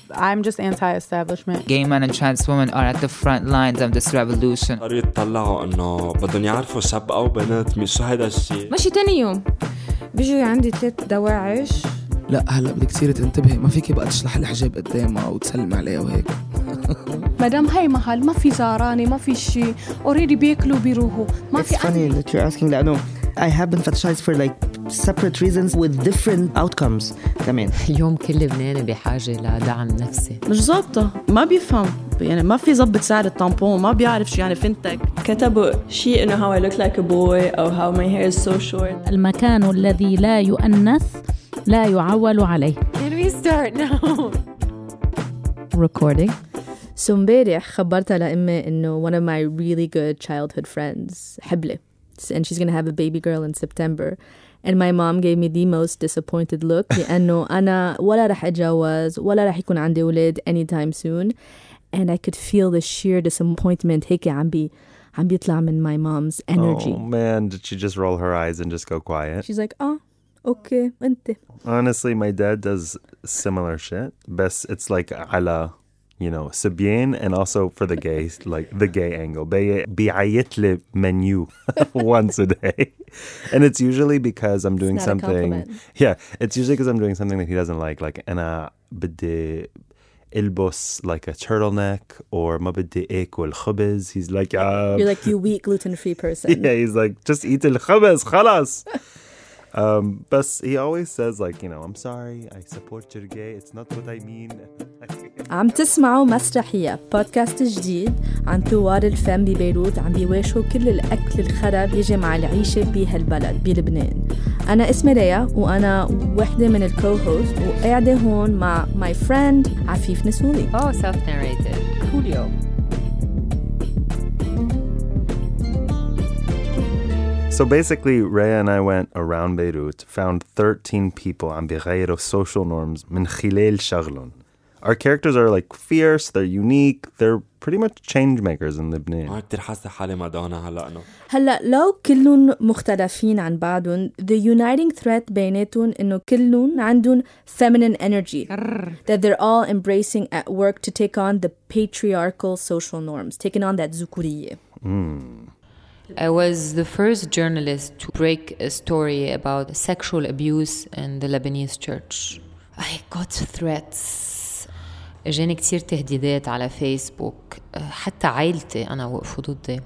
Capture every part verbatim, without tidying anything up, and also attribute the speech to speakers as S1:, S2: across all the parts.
S1: I'm just anti-establishment.
S2: Gay men and trans women are at the front lines of this revolution.
S3: صاروا يتطلعوا إنه بدهم يعرفوا شاب أو بنت مش هيدا الشيء.
S4: ماشي تاني يوم بيجوا عندي ثلاث دواعش.
S5: لا هلا بدك تصيري تنتبهي، ما فيكي بقى تشلح الحجاب قدامها وتسلم عليها وهيك.
S6: مدام هاي محل ما في زعرانة ما في شيء already بياكلوا بيروحوا ما في.
S7: It's funny that you're asking that. No, I have been fetishized for like separate reasons with different outcomes. كمان
S8: اليوم كل لبناني بحاجة لدعم نفسي.
S9: مش ظابطة، ما بيفهم يعني، ما في ظبط سعر الطامبون، ما بيعرف شو يعني فنتك.
S10: كتبوا شيء إنه how I look like a boy أو how my hair is so short.
S11: المكان الذي لا يؤنث لا يعول عليه.
S4: Can we start now?
S11: Recording.
S12: So امبارح خبرتها لأمي إنه one of my really good childhood friends حبلة, and she's gonna have a baby girl in September. And my mom gave me the most disappointed look لأنه أنا ولا رح أتجوز ولا رح يكون عندي أولاد anytime soon. And I could feel the sheer disappointment هيك عم بي عم بيطلع من my mom's energy.
S13: Oh man, did she just roll her eyes and just go quiet?
S12: She's like, oh, okay, أنت.
S13: Honestly, my dad does similar shit. Best it's like على, you know, سبيان, and also for the gay, like the gay angle. بي بيعيط لي menu once a day. And it's usually because I'm doing something. Yeah, it's usually because I'm doing something that he doesn't like. Like أنا بدي البس like a turtleneck or ما بدي اكل خبز. He's like, um,
S12: you're like, you weak gluten-free person.
S13: Yeah, he's like, just eat الخبز خلاص. Um, but he always says like, you know, I'm sorry, I support your gay. It's not what I mean.
S12: عم تسمعوا مسرحية بودكاست جديد عن ثوار الفم ببيروت عم بيواجهوا كل الأكل الخرب يجي مع العيشة بهالبلد بلبنان. أنا اسمي ريا وأنا واحدة من الكو-هوست وقاعدة هون مع my friend عفيف نسولي.
S8: Oh, self-narrated. Julio.
S13: So basically, Rhea and I went around Beirut, found thirteen people عم بيغيروا social norms من خلال شغلهم. Our characters are like fierce, they're unique, they're pretty much change makers in Lebanon.
S3: ما كتير حاسة حالي مادونا هلا أنا.
S12: هلا لو كلهم مختلفين عن بعضهم, the uniting thread بيناتهم إنه كلهم عندهم feminine energy that they're all embracing at work to take on the patriarchal social norms, taking on that ذكورية.
S13: Mm.
S8: I was the first journalist to break a story about sexual abuse in the Lebanese church. I got threats. اجاني كتير تهديدات على فيسبوك, حتى عائلتي أنا وقفوا ضدي.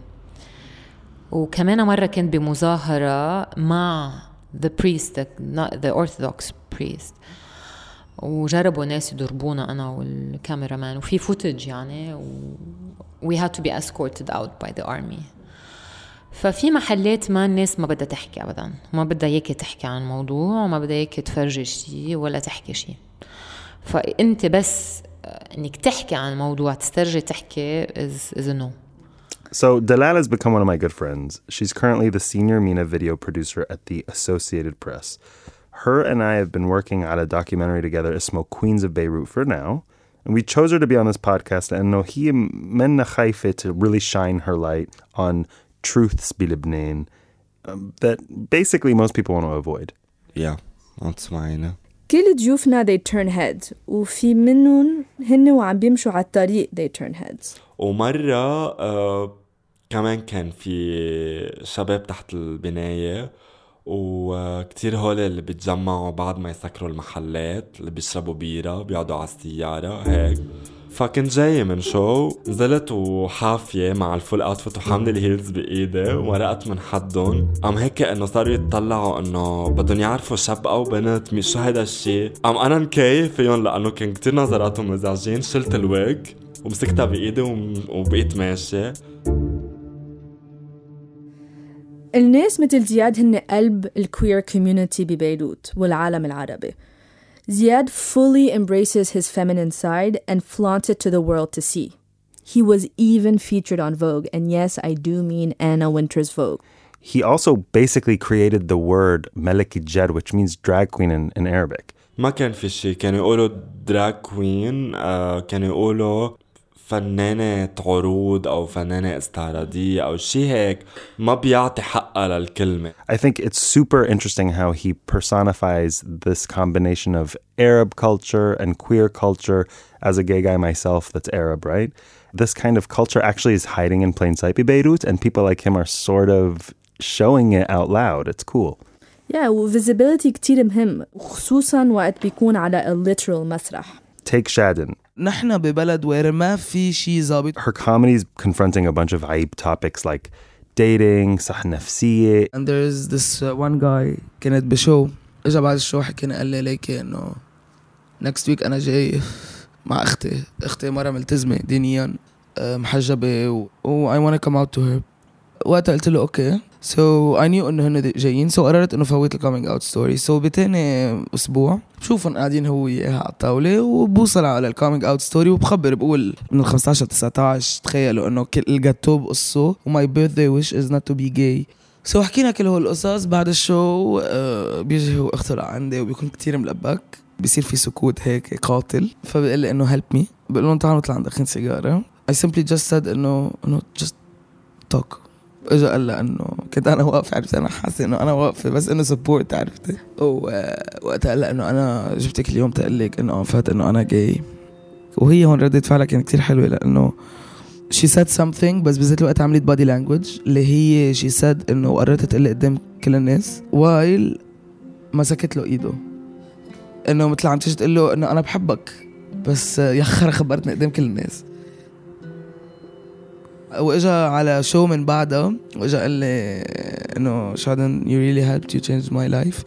S8: وكمان مرة كنت بمظاهرة مع the priest, the, the Orthodox priest, وجربوا ناس يضربونا أنا والكاميرامان, وفي footage يعني, و we had to be escorted out by the army. ففي محلات ما الناس ما بدها تحكي أبدا, ما بدها ياك تحكي عن موضوع, وما بدها ياك تفرجي شيء ولا تحكي شيء. فأنت بس إنك تحكي عن موضوع تسترجي تحكي is, is a no.
S13: So Dalal has become one of my good friends. She's currently the senior MENA video producer at the Associated Press. Her and I have been working on a documentary together, اسمه Queens of Beirut, for now. And we chose her to be on this podcast and no هي منا خايفة to really shine her light on truths بلبنان um, that basically most people want to avoid.
S3: Yeah, that's mine.
S12: كل ضيوفنا they turn heads, وفي منهم هن وعم بيمشوا على الطريق they turn heads.
S3: ومرة uh, كمان كان في شباب تحت البناية, وكتير هول اللي بيتجمعوا بعد ما يسكروا المحلات, اللي بيشربوا بيرة بيقعدوا على السيارة هيك. فكنت جاي من شو, نزلت وحافية مع الفول اوتفيت وحاملة الهيلز بإيدي, ورقت من حدهم قام هيك انه صاروا يتطلعوا انه بدهم يعرفوا شاب او بنت مش هيدا الشيء. قام انا مكيف فيهم لانه كان كتير نظراتهم مزعجين. شلت الويج ومسكتها بإيدي وبقيت ماشي.
S12: الناس مثل زياد هن قلب الكوير كوميونيتي ببيروت والعالم العربي. Ziad fully embraces his feminine side and flaunts it to the world to see. He was even featured on Vogue, and yes, I do mean Anna Wintour's Vogue.
S13: He also basically created the word Maliki Jed, which means drag queen in, in Arabic.
S3: ما كان في شيء, كانوا يقولوا drag queen, uh, كانوا يقولوا فنانة عروض أو فنانة استعراضية أو شي هيك ما بيعطي حقها للكلمة.
S13: I think it's super interesting how he personifies this combination of Arab culture and queer culture as a gay guy myself that's Arab, right? This kind of culture actually is hiding in plain sight in Beirut, and people like him are sort of showing it out loud. It's cool.
S12: Yeah, و-visibility كتير مهم خصوصاً وقت بيكون على a literal مسرح.
S13: Take Shadin.
S5: نحن ببلد وير ما في شي ظابط.
S13: Her comedy is confronting a bunch of عيب topics like dating, صح نفسية.
S5: And there's this uh, one guy كانت بشو اجا بعد الشو حكينا قال لي ليكي انه next week انا جاي مع اختي اختي مرة ملتزمة دينيا محجبة و I want to come out to her. وقتها قلت له اوكي. So I knew انه هن جايين so قررت انه فوت الكامينج اوت ستوري. So بتاني اسبوع بشوفهم قاعدين هو وياها على الطاولة وبوصل على الكامينج اوت ستوري وبخبر بقول من الخمستاشر تسعتاشر تخيلوا انه كل الجاتو بقصه وماي birthday wish is not to be gay. So حكينا كل هو القصص. بعد الشو uh, بيجي هو اخته لعندي وبيكون كتير ملبك بيصير في سكوت هيك قاتل فبقول لي انه help me. بقول لهم تعالوا نطلع ندخن سيجارة. I simply just said انه انه just talk. اجا قال لها انه كنت انا واقفه عرفت انا حاسه انه انا واقفه بس انه سبورت عرفتي. ووقتها قال لها انه انا جبتك اليوم تقلك انه فات انه انا جاي. وهي هون ردت فعلها كانت كتير حلوه لانه she said something بس بذات الوقت عملت body language اللي هي she said انه قررت تقلي قدام كل الناس while مسكت له ايده انه مثل عم تيجي تقول له انه انا بحبك بس يا خرا خبرتني قدام كل الناس. واجا على شو من بعدها واجا قال لي انه Shadin you really helped you changed my life.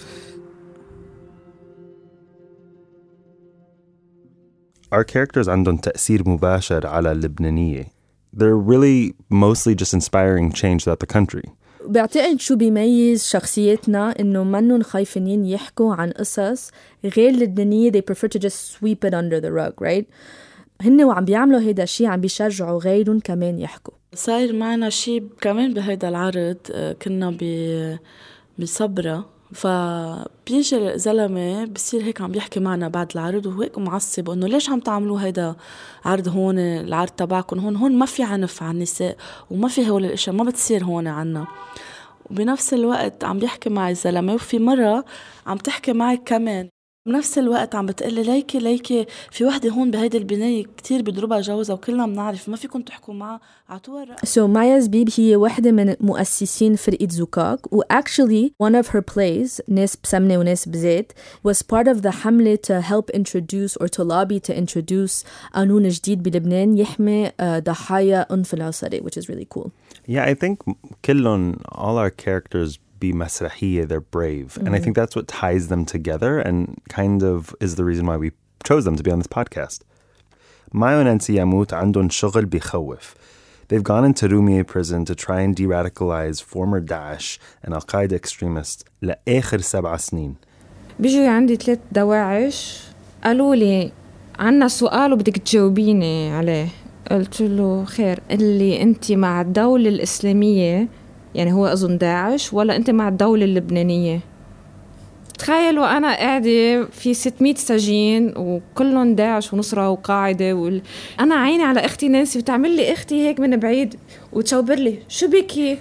S13: Our characters عندهم تأثير مباشر على اللبنانية. They're really mostly just inspiring change throughout the country.
S12: بعتقد شو بيميز شخصيتنا إنه منن خايفين يحكوا عن قصص غير لبنانية. They prefer to just sweep it under the rug, right? هن وعم بيعملوا هيدا الشيء عم بيشجعوا غيرهم كمان يحكوا.
S9: صاير معنا شيء كمان بهيدا العرض كنا بصبرة فبيجي زلمة بصير هيك عم بيحكي معنا بعد العرض وهيك معصب انه ليش عم تعملوا هيدا عرض هون العرض تبعكم هون هون ما في عنف على النساء وما في هول الاشياء ما بتصير هون عنا. وبنفس الوقت عم بيحكي معي الزلمة وفي مرة عم تحكي معي كمان بنفس الوقت عم بتقلي ليكي ليكي في وحدة هون بهيدي البناية كتير بضربها جوزها وكلنا بنعرف ما فيكم تحكوا معها عطوها الرأي.
S12: So مايا زبيب هي واحدة من مؤسسين فرقة زوكاك و actually one of her plays ناس بسمنة وناس بزيت was part of the حملة to help introduce or to lobby to introduce قانون جديد بلبنان يحمي ضحايا أنف العصري which is really cool.
S13: Yeah, I think كلهم all our characters بمسرحية they're brave mm-hmm. and I think that's what ties them together and kind of is the reason why we chose them to be on this podcast. Maya and Nancy Yamut عندهم شغل بيخوف. They've gone into Rumiyeh prison to try and de-radicalize former Daesh and Al-Qaeda extremists لآخر سبع سنين.
S4: بيجوا عندي ثلاث دواعش قالوا لي عنا سؤال وبدك تجاوبيني عليه. قلت له خير اللي انت مع الدولة الإسلامية يعني هو أظن داعش ولا أنت مع الدولة اللبنانية؟ تخيلوا أنا قاعدة في ستمية سجين وكلهم داعش ونصرة وقاعدة وال... أنا عيني على أختي نانسي وتعمل لي أختي هيك من بعيد وتشوبر لي شو بكي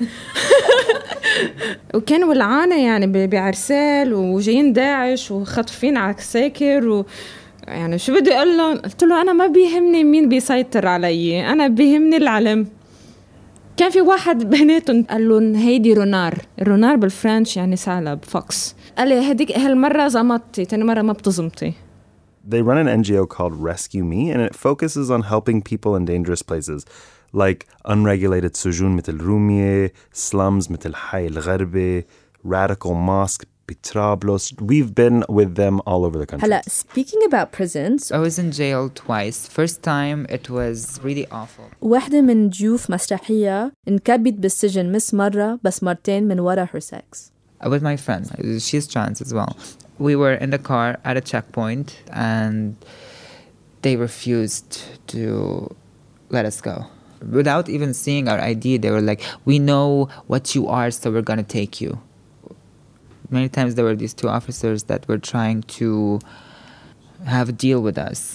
S4: وكانوا ولعانة يعني بعرسال وجايين داعش وخطفين على الساكر و... يعني شو بدي أقول لهم؟ قلت له أنا ما بيهمني مين بيسيطر علي أنا بيهمني العلم. كان في واحد بيناتهم قال لهم هيدي رونار رونار بالفرنش يعني ثعلب فوكس قال لي هديك هالمرة زمطتي تاني مرة ما بتزمطي.
S13: They run an N G O called Rescue Me and it focuses on helping people in dangerous places like unregulated سجون مثل رومية, slums مثل حي الغربة, radical mosque Trablus. We've been with them all over the country.
S12: هلا speaking about prisons
S2: I was in jail twice. First time it was really awful.
S12: واحدة من ضيوف مسرحية انكبت بالسجن مس مرة بس مرتين من ورا her sex.
S2: With my friend. She's trans as well. We were in the car at a checkpoint and they refused to let us go. Without even seeing our I D, they were like, we know what you are, so we're going to take you. Many times there were these two officers that were trying to have a deal with us.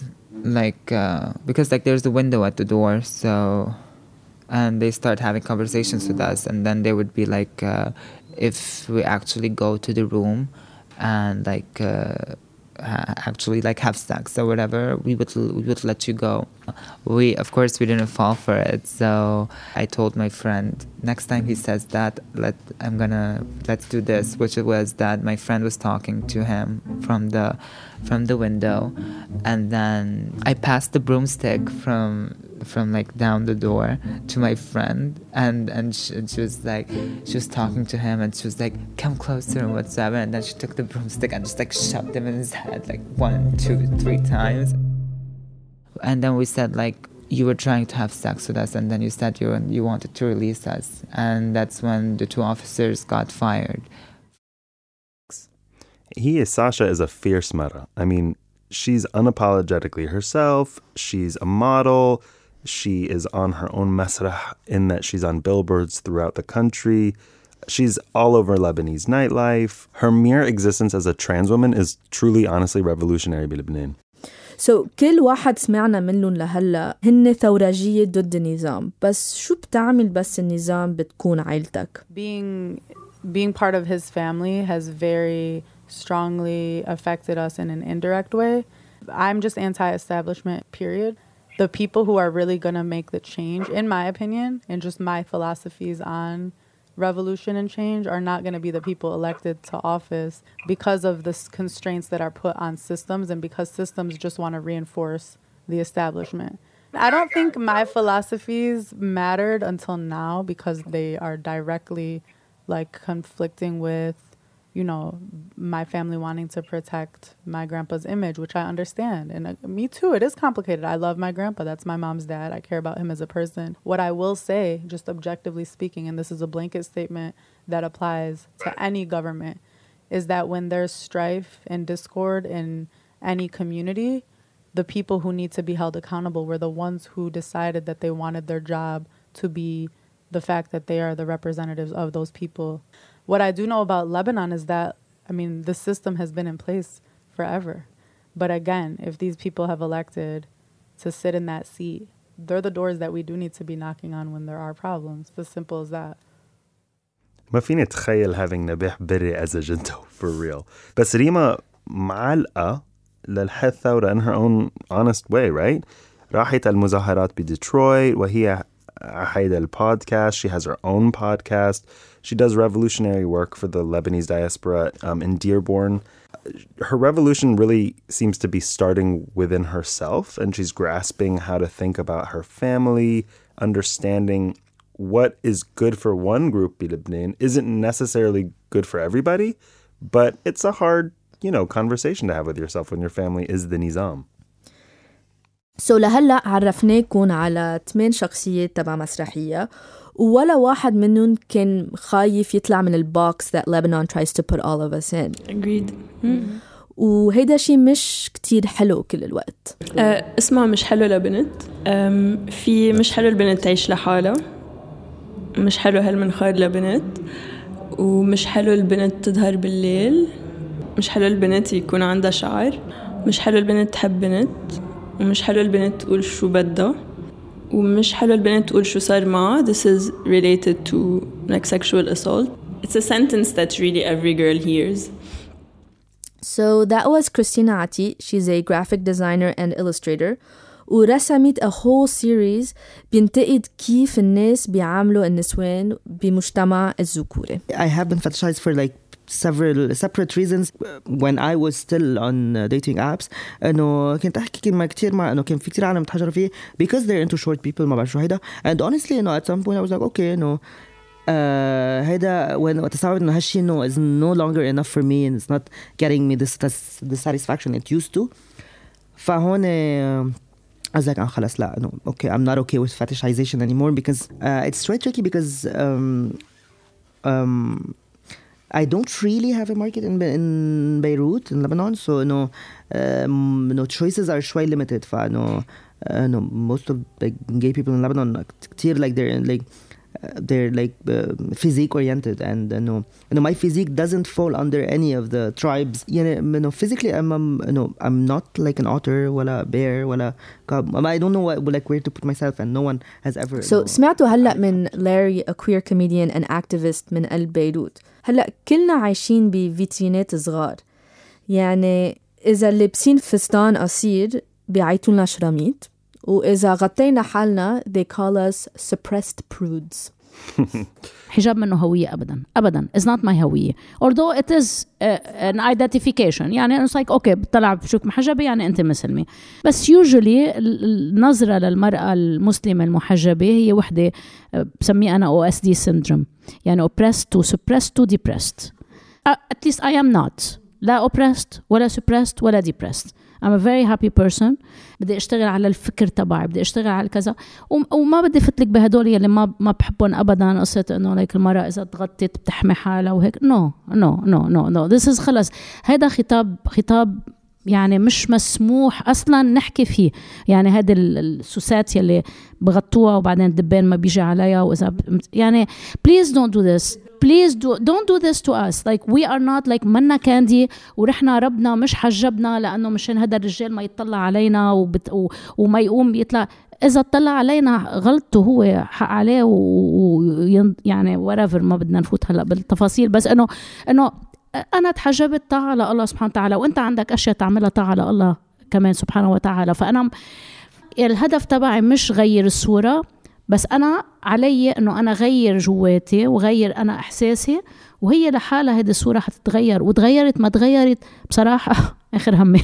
S2: like uh, because like there's a window at the door, so and they start having conversations with us, and then they would be like uh, if we actually go to the room and like uh, ha- actually like have sex or whatever, we would we would let you go. We of course we didn't fall for it, so I told my friend, next time he says that, let I'm gonna let's do this, which it was that my friend was talking to him from the from the window, and then I passed the broomstick from from like down the door to my friend, and and she, and she was like she was talking to him, and she was like, come closer and whatsoever, and then she took the broomstick and just like shoved him in his head like one two three times. And then we said like, you were trying to have sex with us, and then you said you you wanted to release us, and that's when the two officers got fired.
S13: He is Sasha is a fierce mara. I mean, she's unapologetically herself. She's a model. She is on her own masrah in that she's on billboards throughout the country. She's all over Lebanese nightlife. Her mere existence as a trans woman is truly, honestly revolutionary بلبنان.
S12: So كل واحد سمعنا منهم لهلا هن ثورجية ضد النظام، بس شو بتعمل بس النظام بتكون عيلتك؟
S1: Being being part of his family has very strongly affected us in an indirect way. I'm just anti-establishment, period. The people who are really going to make the change, in my opinion, and just my philosophies on revolution and change, are not going to be the people elected to office because of the constraints that are put on systems, and because systems just want to reinforce the establishment. I don't think my philosophies mattered until now because they are directly like conflicting with, you know, my family wanting to protect my grandpa's image, which I understand. And uh, me too, it is complicated. I love my grandpa. That's my mom's dad. I care about him as a person. What I will say, just objectively speaking, and this is a blanket statement that applies to any government, is that when there's strife and discord in any community, the people who need to be held accountable were the ones who decided that they wanted their job to be the fact that they are the representatives of those people. What I do know about Lebanon is that, I mean, the system has been in place forever. But again, if these people have elected to sit in that seat, they're the doors that we do need to be knocking on when there are problems. It's as simple as that.
S13: ما فيني أتخيل having نبيح بري as a جنتو for real. بس ريما معلقة للحث ثورة in her own honest way, right? راحت المظاهرات بديترويت وهي حيدا البودكاست. She has her own podcast. She does revolutionary work for the Lebanese diaspora um, in Dearborn. Her revolution really seems to be starting within herself, and she's grasping how to think about her family, understanding what is good for one group in Lebanon isn't necessarily good for everybody, but it's a hard, you know, conversation to have with yourself when your family is the nizam.
S12: So لهلأ عرفناكم على ثمان شخصيات تبع مسرحية، ولا واحد منهم كان خايف يطلع من البوكس that Lebanon tries to put all of us in.
S10: Agreed. Mm-hmm.
S12: وهيدا شيء مش كتير حلو كل الوقت.
S10: uh, اسمها مش حلو لبنت. um, في مش حلو البنت تعيش لحالها، مش حلو هالمنخار لبنت، ومش حلو البنت تظهر بالليل، مش حلو البنت يكون عندها شعر، مش حلو البنت تحب بنت، ومش حلو البنت تقول شو بدها، ومش حلو البنت تقول شو صار معها. This is related to like sexual assault. It's a sentence that really every girl hears.
S12: So that was Christina Ati. She's a graphic designer and illustrator. ورسمت a whole series بينتقد كيف الناس بيعاملوا النسوان بمجتمع الذكوري.
S7: I have been fetishized for like several separate reasons when I was still on uh, dating apps. إنه كنت أحكي مع كتير مع إنه كان في كتير عالم تحجر فيه because they're into short people ما بعرف شو هيدا. And honestly, you know, at some point I was like, okay, you know, uh, هيدا when وتستوعب إنه هالشي إنه is no longer enough for me and it's not getting me this this, this satisfaction it used to. فهون uh, I was like, ah, خلاص لا, no, okay, I'm not okay with fetishization anymore because uh, it's very tricky because um, um, I don't really have a market in in Beirut, in Lebanon, so no, um, no choices are شوي limited. فا no, uh, no, most of the gay people in Lebanon كتير like they're like they're like uh, physique oriented, and you know, you know my physique doesn't fall under any of the tribes. You know, you know physically I'm um, you know I'm not like an otter ولا bear ولا cub. I don't know what, like where to put myself, and no one has ever.
S12: So سمعتوا هلا من Larry, a queer comedian and activist من قلب بيروت. هلا كلنا عايشين بفيترينات صغار، يعني إذا لابسين فستان قصير بيعيطوا لنا شراميط، وإذا غطينا حالنا they call us suppressed prudes.
S11: حجاب منه هوية أبدا أبدا it's not my هوية although it is uh, an identification. يعني it's like okay بطلع بشوك محجبة يعني أنت مسلمة، بس usually النظرة للمرأة المسلمة المحجبة هي وحدة بسميه أنا أو إس دي syndrome، يعني oppressed to suppressed to depressed. uh, at least I am not لا oppressed ولا suppressed ولا depressed. I'm a very happy person. بدي اشتغل على الفكر تبعي، بدي اشتغل على كذا، وما بدي فتلك بهدول اللي ما ما بحبهم ابدا. قصه انه لك المراه اذا تغطت بتحمي حالها وهيك، نو نو نو نو نو this is خلص. هذا خطاب خطاب يعني مش مسموح اصلا نحكي فيه. يعني هذا السوسات اللي بغطوها وبعدين الدبان ما بيجي عليها، واذا يعني please don't do this. Please do, don't do this to us. Like we are not like منا كاندي ورحنا ربنا مش حجبنا لأنه مشان هذا الرجال ما يطلع علينا وبت و, وما يقوم يطلع. إذا طلع علينا غلطه هو حق عليه ويعني whatever. ما بدنا نفوت هلا بالتفاصيل، بس إنه إنه أنا تحجبت طاعة لله سبحانه وتعالى، وأنت عندك أشياء تعملها طاعة لله كمان سبحانه وتعالى. فأنا الهدف تبعي مش غير الصورة، بس أنا علي أنه أنا غير جواتي وغير أنا إحساسي، وهي لحالها هذه الصورة حتتغير، وتغيرت ما تغيرت بصراحة آخر همي.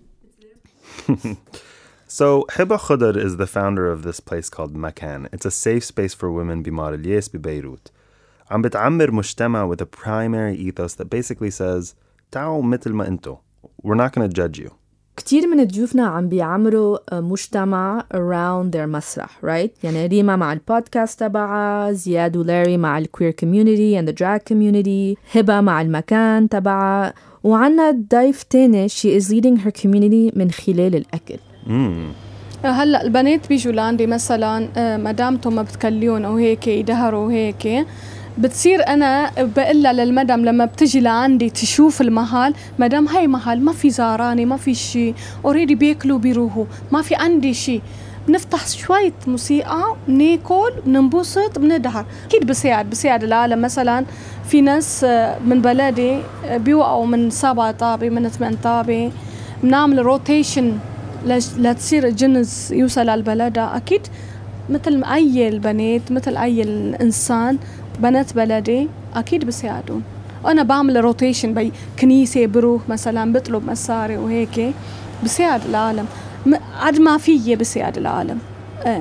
S13: So Hiba Khudar is the founder of this place called Makan. It's a safe space for women بمار الياس ببيروت. عم بتعمر مجتمع with a primary ethos that basically says تعالوا مثل ما انتو. We're not going to judge you.
S12: كتير من ضيوفنا عم بيعمروا مجتمع around their مسرح, right? يعني ريما مع البودكاست تبعها، زياد ولاري مع الqueer community and the drag community، هبة مع المكان تبعها، وعنا ضيف تاني she is leading her community من خلال الأكل.
S13: mm.
S6: هلأ البنات بيجوا لعندي مثلا مدامتهم ما بتكليون أو هيك يدهروا هيك، بتصير أنا بقلها للمدام لما بتجي لعندي تشوف المحل، مدام هاي محل ما في زاراني ما في شي أوريدي بياكلوا بيروحوا ما في عندي شي، بنفتح شوية موسيقى بناكل بننبسط بندهر. أكيد بساعد بساعد العالم. مثلا في ناس من بلدي بيوقعوا من سبعة طابة من ثمان طابة، بنعمل روتيشن لتصير الجنس يوصل على البلد. أكيد مثل أي البنات مثل أي الإنسان بنات بلدي أكيد بساعدون. أنا بعمل روتيشن بي كنيسة بروح مثلا بطلب مصاري وهيك بساعد العالم، عد ما فيه بساعد العالم. إيه.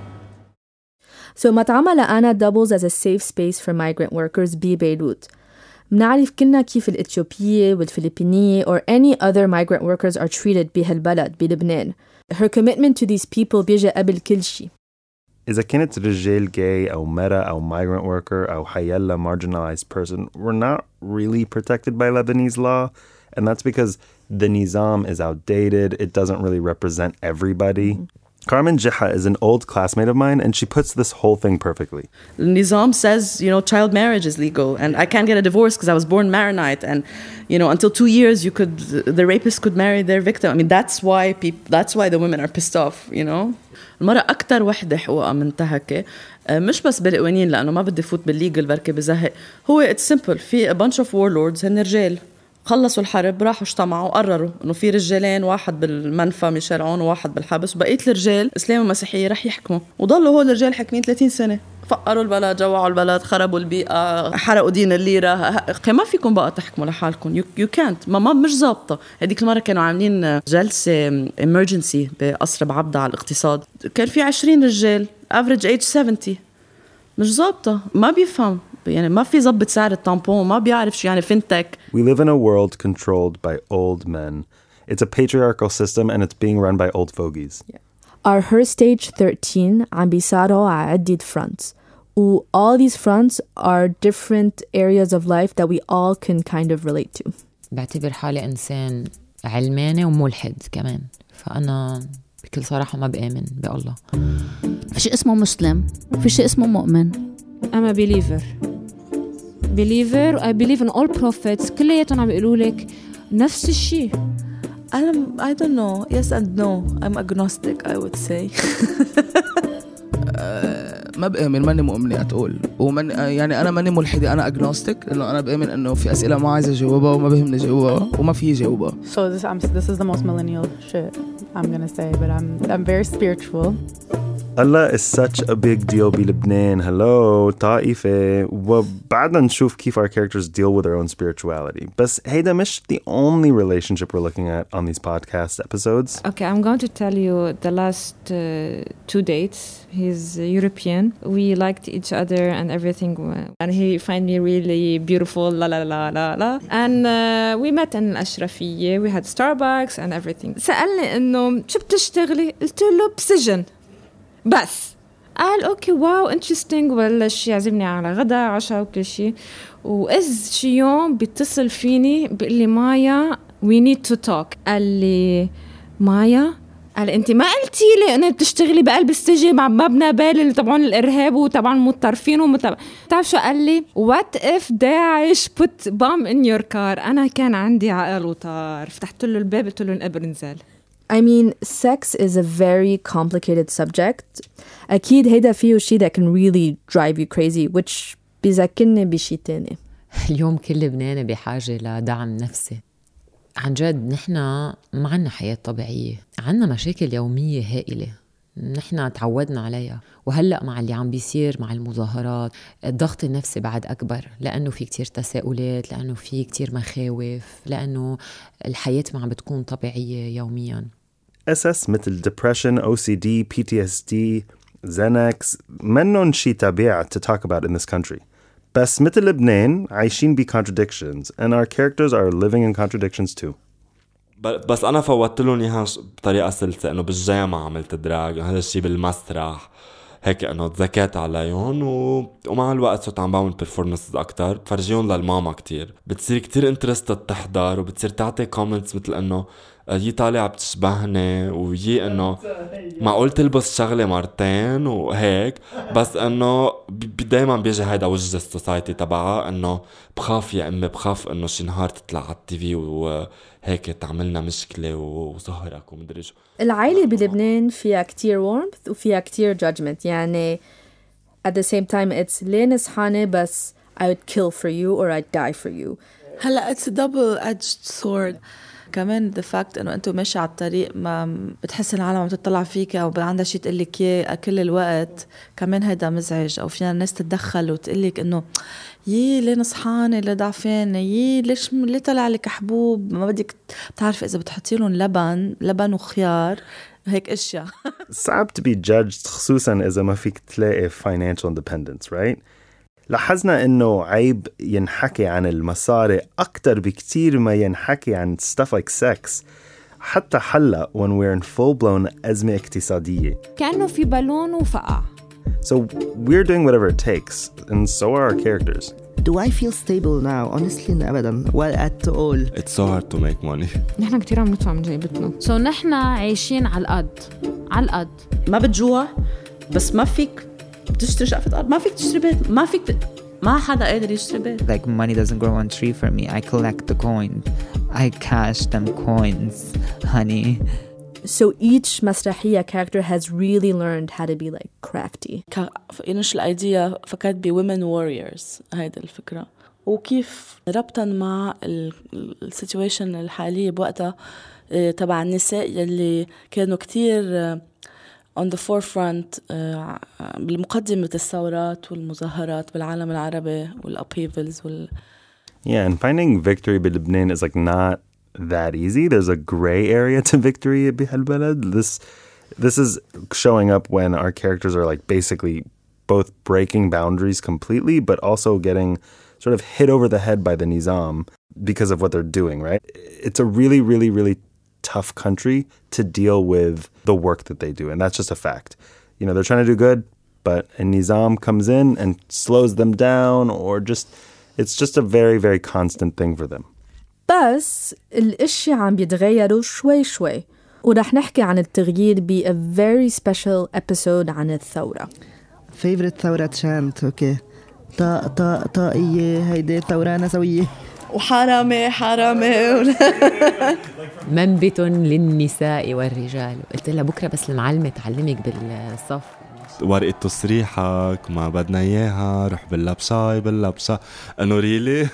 S12: So مطعم لأنا doubles as a safe space for migrant workers ببيروت. منعرف كلنا كيف الإثيوبية والفلبينية or any other migrant workers are treated بهالبلد بلبنان. Her commitment to these people بيجي قبل كل شيء.
S13: إذا كنت رجال gay أو مرأة أو migrant worker أو حيلا marginalized person, we're not really protected by Lebanese law, and that's because the nizam is outdated. It doesn't really represent everybody. Mm-hmm. Carmen Jiha is an old classmate of mine, and she puts this whole thing perfectly.
S14: The nizam says, you know, child marriage is legal, and I can't get a divorce because I was born Maronite, and you know, until two years, you could the rapist could marry their victim. I mean, that's why people, that's why the women are pissed off, you know. المرأة أكتر وحدة حقوقها منتهكة، مش بس بالقوانين، لأنه ما بدي فوت بالليجل بركي بزهق. هو it's simple. في a bunch of warlords هن رجال خلصوا الحرب راحوا اجتمعوا قرروا إنه في رجالين، واحد بالمنفى ميشيل عون وواحد بالحبس، وبقية الرجال إسلام ومسيحية رح يحكموا. وضلوا هول الرجال حاكمين ثلاثين سنة، فقروا البلد، جوعوا البلد، خربوا البيئة، حرقوا دين الليرة. ما فيكم بقى تحكموا لحالكم. you, you can't. ما, ما مش ضابطة. هذيك المرة كانوا عاملين جلسة emergency بقصر بعبدة على الاقتصاد، كان في عشرين رجال average age seventy. مش ضابطة، ما بيفهم، يعني ما في ضبط سعر التامبون، ما بيعرف شو يعني فينتك.
S13: We live in a world controlled by old men. It's a patriarchal system and it's being run by old fogies.
S12: Yeah. Our Her Stage thirteen عم بيسارعوا على عدة fronts. و all these fronts are different areas of life that we all can kind of relate to.
S8: بعتبر حالي إنسان علماني وملحد كمان، فأنا بكل صراحة ما بآمن بالله.
S11: في شيء اسمه مسلم، في شيء اسمه مؤمن،
S4: I'm a believer believer I believe in all prophets كلياتهم عم بيقولوا لك نفس الشيء.
S9: I'm, I don't know. Yes and no. I'm agnostic, I would say.
S5: ما بآمن ماني مؤمنة أتقول ومن يعني أنا ماني ملحدة أنا agnostic لأنه أنا بآمن إنه في أسئلة ما عايزة جوابها وما بهمني جوابها وما في جوابها.
S1: So this I'm, this is the most millennial shit I'm gonna say, but I'm I'm very spiritual.
S13: Allah is such a big deal بلبنان. Hello طائفة وبعدنا نشوف كيف our characters deal with their own spirituality. بس هيدا مش the only relationship we're looking at on these podcast episodes.
S4: Okay, I'm going to tell you the last uh, two dates. He's European. We liked each other and everything. And he find me really beautiful. La la la la la. And uh, we met in الأشرفية. We had Starbucks and everything. سألني إنه شو بتشتغلي؟ قلت له بسجن. بس قال اوكي واو انترستينج وبلش يعزمني على غدا عشاء وكل شيء واذ شي يوم بيتصل فيني بيقول لي مايا we need to talk. قال لي مايا قال انت ما قلتي لي انك بتشتغلي بقلب السجن مع مبنى بالي تبعون الارهاب وتبعون المتطرفين ومتابع. تعرف شو قال لي؟ what if داعش put bomb in your car. انا كان عندي عقل وطار فتحت له الباب قلت له انقبر نزال.
S12: I mean, sex is a very complicated subject. أكيد هيدا فيه شيء that can really drive you crazy, which بيذكرني بشيء تاني.
S8: اليوم كل لبناني بحاجة لدعم نفسي. عن جد نحن ما عنا حياة طبيعية، عنا مشاكل يومية هائلة نحن تعودنا عليها، وهلأ مع اللي عم بيصير مع المظاهرات الضغط النفسي بعد أكبر لأنه في كتير تساؤلات، لأنه في كتير مخاوف، لأنه الحياة ما عم بتكون طبيعية يومياً.
S13: إس إس مثل depression, أو سي دي, بي تي إس دي, Xanax منن شي طبيعي to talk about in this country. بس مثل لبنان عايشين ب contradictions and our characters are living in contradictions too.
S3: بس أنا فوتت لهم إياها بطريقة سلسة إنه بالجامعة عملت دراج، هذا الشيء بالمسرح هيك إنه تذكرت عليهم و... ومع الوقت صرت عم بعمل performances أكتر بفرجيهم للماما كتير، بتصير كتير interested تحضر وبتصير تعطي comments مثل إنه يي طالع بتشبهني ويي إنه معقول تلبس شغلة مرتين وهيك، بس إنه دايما بيجي هيدا وجه السوسايتي تبعها إنه بخاف يا أمي بخاف إنه شي نهار تطلع على التيفي وهيك تعملنا مشكلة وظهرك ومدري شو.
S12: العائلة بلبنان فيها كتير warmth وفيها كتير judgment، يعني at the same time it's ليه نصحاني بس I would kill for you or I'd die for you.
S9: هلا it's a double-edged sword. كمان the fact إنه أنتوا ماشي على الطريق ما بتحس العالم عم تطلع فيك أو عندها شيء تقلك إياه كل الوقت، كمان هيدا مزعج. أو فينا الناس تتدخل وتقلك إنه يي ليه نصحانة ليه ضعفانة، يي ليش ليه طلع لك حبوب، ما بدك بتعرف إذا بتحطي لهم لبن لبن وخيار هيك أشياء.
S13: صعب to be judged خصوصا إذا ما فيك تلاقي financial independence, right؟ لاحظنا إنه عيب ينحكي عن المصاري أكتر بكتير ما ينحكي عن stuff like sex، حتى حلا when we're in full-blown أزمة اقتصادية.
S4: كأنه في بالون وفقع.
S13: So we're doing whatever it takes, and so are our characters.
S7: Do I feel stable now? Honestly, أبداً. Well, at all.
S3: It's so hard to make money.
S4: نحن كتير عم ندفع من جيبتنا.
S11: So نحن عايشين على القد، على القد.
S14: ما بتجوع بس ما فيك تشتري شقفة أرض، ما فيك تشتري بيت، ما فيك ت... ما حدا قادر يشتري بيت.
S2: Like money doesn't grow on tree for me. I collect the coins. I cash them coins, honey.
S12: So each مسرحية character has really learned how to be like crafty.
S9: إنش الأيديا فكرت ب women warriors هيدا الفكرة، وكيف ربطا مع السيتويشن الحالية بوقتها تبع النساء يلي كانوا كتير on the forefront بالمقدمة الثورات والمظاهرات بالعالم العربي والupheavals وال.
S13: Yeah, and finding victory بلبنان is like not that easy. There's a gray area to victory بهالبلد. This this is showing up when our characters are like basically both breaking boundaries completely, but also getting sort of hit over the head by the Nizam because of what they're doing, right? It's a really, really, really tough country to deal with the work that they do, and that's just a fact. You know, they're trying to do good, but a Nizam comes in and slows them down, or just it's just a very, very constant thing for them.
S12: بس الاشياء عم بيتغيروا شوي شوي، ورح نحكي عن التغيير ب a very special episode عن الثورة.
S7: Favorite ثورة chant, okay. طا طا طائية هيدي ثورانة سوية
S14: وحرامة حرامة
S8: منبت للنساء والرجال. قلت لها بكرة بس المعلمة تعلمك بالصف
S3: ورقة تصريحك ما بدنا إياها رح باللبساي باللبسة أنو ريلي.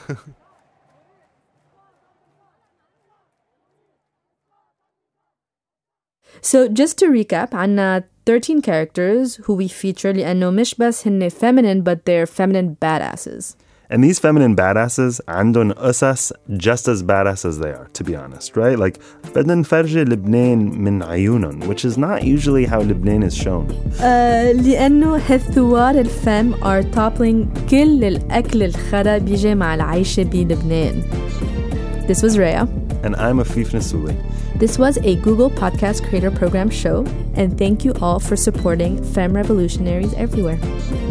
S12: So just to recap, عنا thirteen characters who we feature لأنه مش بس هن feminine but they're feminine badasses.
S13: And these feminine badasses عندن أساس just as badass as they are, to be honest, right? Like, بدنا نفرجي لبنان من عيونن, which is not usually how Lebanon is shown.
S12: Uh, لأنه هالثوار الفم are toppling كل الأكل الخرا بيجي مع العيشة بلبنان. This was Rhea.
S13: And I'm Afif Nasouli.
S12: This was a Google Podcast Creator Program show, and thank you all for supporting Femme Revolutionaries everywhere.